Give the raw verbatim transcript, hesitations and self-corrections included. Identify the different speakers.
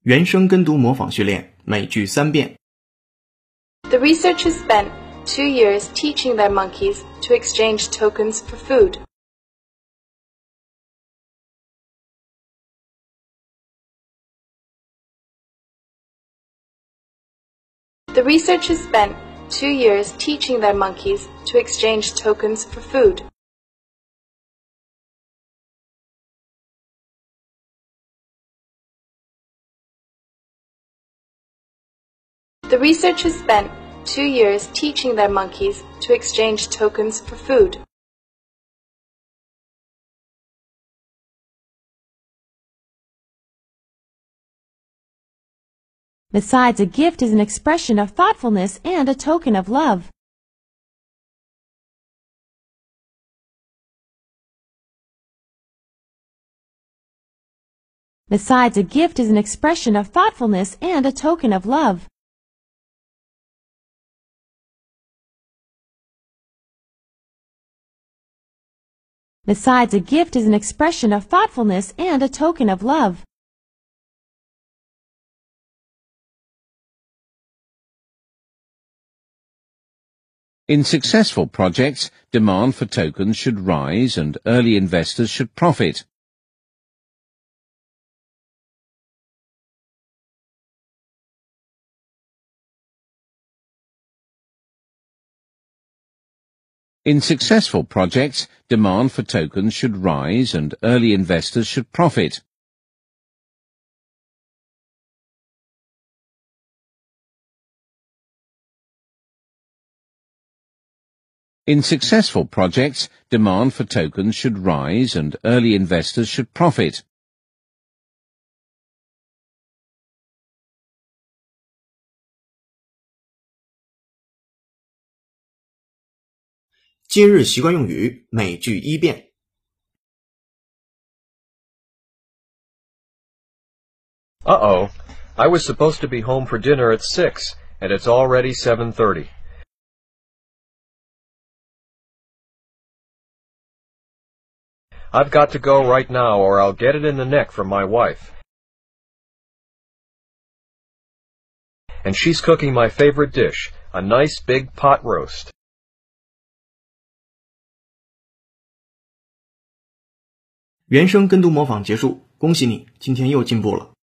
Speaker 1: 原声跟读模仿训练，每句三遍。
Speaker 2: The researchers spent two years teaching their monkeys to exchange tokens for food. The researchers spent two years teaching their monkeys to exchange tokens for food. The researchers spent two years teaching their monkeys to exchange tokens for food.
Speaker 3: Besides, a gift is an expression of thoughtfulness and a token of love. Besides, a gift is an expression of thoughtfulness and a token of love. Besides, a gift is an expression of thoughtfulness and a token of love.
Speaker 4: In successful projects, demand for tokens should rise and early investors should profit. In successful projects, demand for tokens should rise and early investors should profit. In successful projects, demand for tokens should rise and early investors should profit.
Speaker 1: 今日习惯用语，每句一遍。
Speaker 5: Uh-oh, I was supposed to be home for dinner at six, and it's already seven thirty. I've got to go right now or I'll get it in the neck from my wife. And she's cooking my favorite dish, a nice big pot roast.
Speaker 1: 原声跟读模仿结束，恭喜你，今天又进步了。